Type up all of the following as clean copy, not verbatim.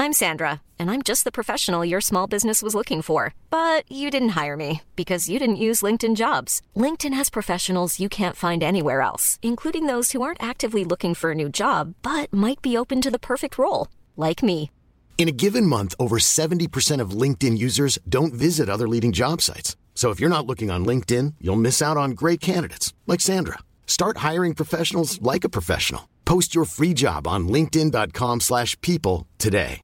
I'm Sandra, and I'm just the professional your small business was looking for. But you didn't hire me because you didn't use LinkedIn Jobs. LinkedIn has professionals you can't find anywhere else, including those who aren't actively looking for a new job, but might be open to the perfect role, like me. In a given month, over 70% of LinkedIn users don't visit other leading job sites. So if you're not looking on LinkedIn, you'll miss out on great candidates like Sandra. Start hiring professionals like a professional. Post your free job on linkedin.com/people today.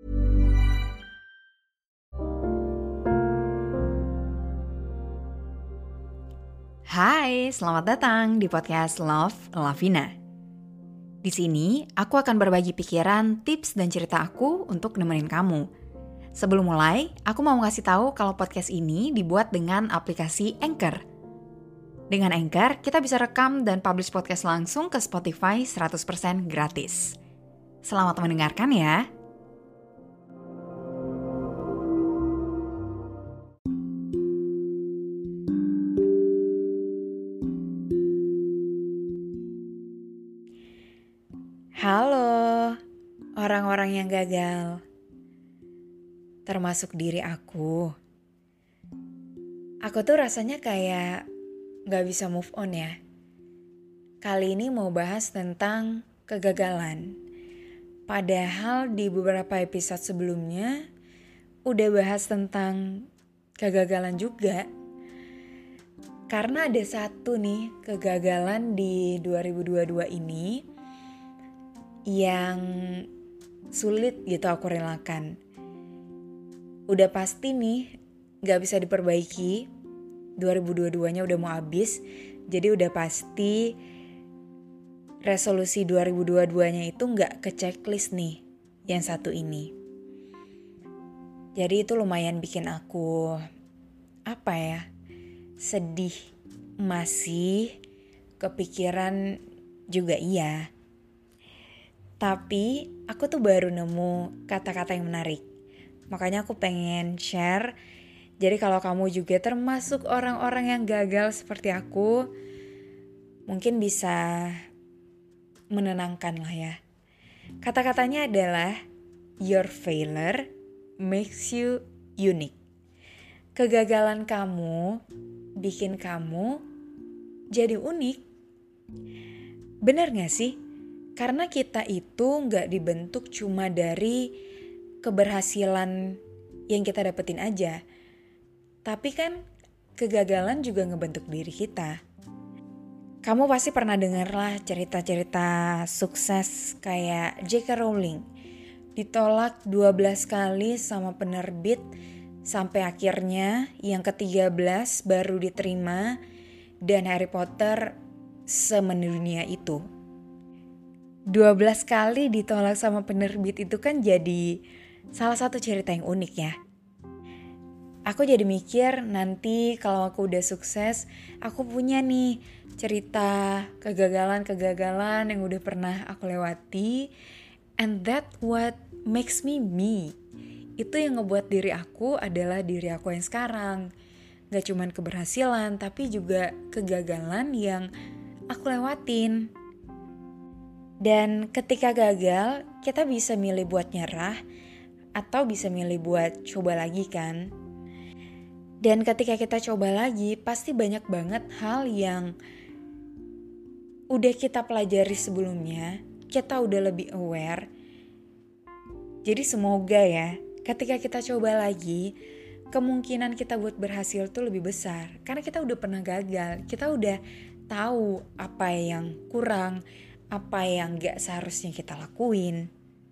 Hai, selamat datang di podcast Love Lavina. Di sini, aku akan berbagi pikiran, tips, dan cerita aku untuk nemenin kamu. Sebelum mulai, aku mau ngasih tahu kalau podcast ini dibuat dengan aplikasi Anchor. Dengan Anchor, kita bisa rekam dan publish podcast langsung ke Spotify 100% gratis. Selamat mendengarkan ya. Halo, orang-orang yang gagal, termasuk diri aku. Aku tuh rasanya kayak gak bisa move on ya. Kali ini mau bahas tentang kegagalan. Padahal di beberapa episode sebelumnya udah bahas tentang kegagalan juga. Karena ada satu nih kegagalan di 2022 ini yang sulit gitu aku relakan. Udah pasti nih gak bisa diperbaiki. 2022-nya udah mau habis. Jadi udah pasti resolusi 2022-nya itu gak ke checklist nih yang satu ini. Jadi itu lumayan bikin aku sedih, masih kepikiran juga iya. Tapi aku tuh baru nemu kata-kata yang menarik. Makanya aku pengen share. Jadi kalau kamu juga termasuk orang-orang yang gagal seperti aku, mungkin bisa menenangkan lah ya. Kata-katanya adalah, your failure makes you unique. Kegagalan kamu bikin kamu jadi unik. Bener gak sih? Karena kita itu gak dibentuk cuma dari keberhasilan yang kita dapetin aja. Tapi kan kegagalan juga ngebentuk diri kita. Kamu pasti pernah denger lah cerita-cerita sukses kayak J.K. Rowling. Ditolak 12 kali sama penerbit sampai akhirnya yang ke-13 baru diterima dan Harry Potter semendunia itu. 12 kali ditolak sama penerbit itu kan jadi salah satu cerita yang unik ya. Aku jadi mikir nanti kalau aku udah sukses, aku punya nih cerita kegagalan-kegagalan yang udah pernah aku lewati. And that what makes me me. Itu yang ngebuat diri aku adalah diri aku yang sekarang. Gak cuman keberhasilan, tapi juga kegagalan yang aku lewatin. Dan ketika gagal, kita bisa milih buat nyerah atau bisa milih buat coba lagi kan. Dan ketika kita coba lagi, pasti banyak banget hal yang udah kita pelajari sebelumnya, kita udah lebih aware. Jadi semoga ya, ketika kita coba lagi, kemungkinan kita buat berhasil tuh lebih besar. Karena kita udah pernah gagal, kita udah tahu apa yang kurang, apa yang gak seharusnya kita lakuin.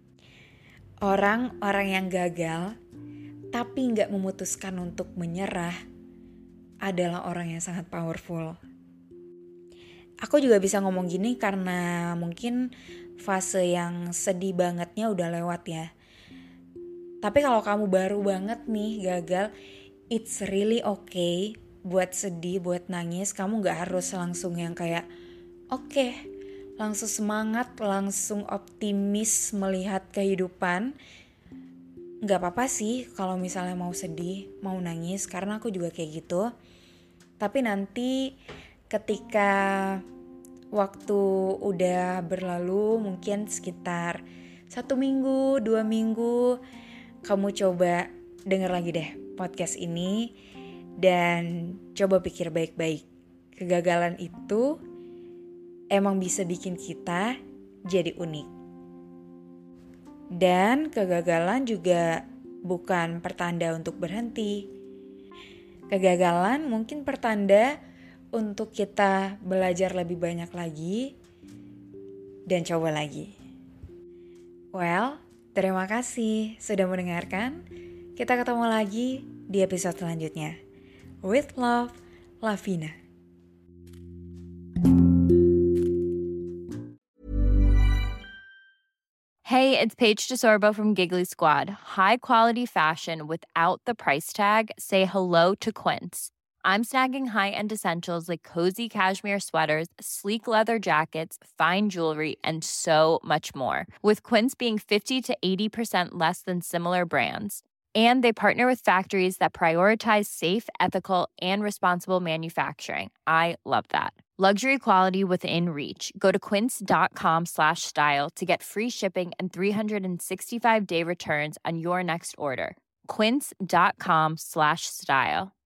Orang-orang yang gagal tapi gak memutuskan untuk menyerah adalah orang yang sangat powerful. Aku juga bisa ngomong gini karena mungkin fase yang sedih bangetnya udah lewat ya. Tapi kalau kamu baru banget nih gagal, it's really okay buat sedih, buat nangis. Kamu gak harus langsung yang kayak oke, langsung semangat, langsung optimis melihat kehidupan. Gak apa-apa sih kalau misalnya mau sedih, mau nangis, karena aku juga kayak gitu. Tapi nanti ketika waktu udah berlalu, mungkin sekitar 1 minggu, 2 minggu, kamu coba denger lagi deh podcast ini dan coba pikir baik-baik. Kegagalan itu emang bisa bikin kita jadi unik. Dan kegagalan juga bukan pertanda untuk berhenti. Kegagalan mungkin pertanda untuk kita belajar lebih banyak lagi dan coba lagi. Well, terima kasih sudah mendengarkan. Kita ketemu lagi di episode selanjutnya. With love, Lavina. Hey, it's Paige DeSorbo from Giggly Squad. High quality fashion without the price tag. Say hello to Quince. I'm snagging high-end essentials like cozy cashmere sweaters, sleek leather jackets, fine jewelry, and so much more. With Quince being 50 to 80% less than similar brands. And they partner with factories that prioritize safe, ethical, and responsible manufacturing. I love that. Luxury quality within reach. Go to quince.com/style to get free shipping and 365-day returns on your next order. Quince.com/style.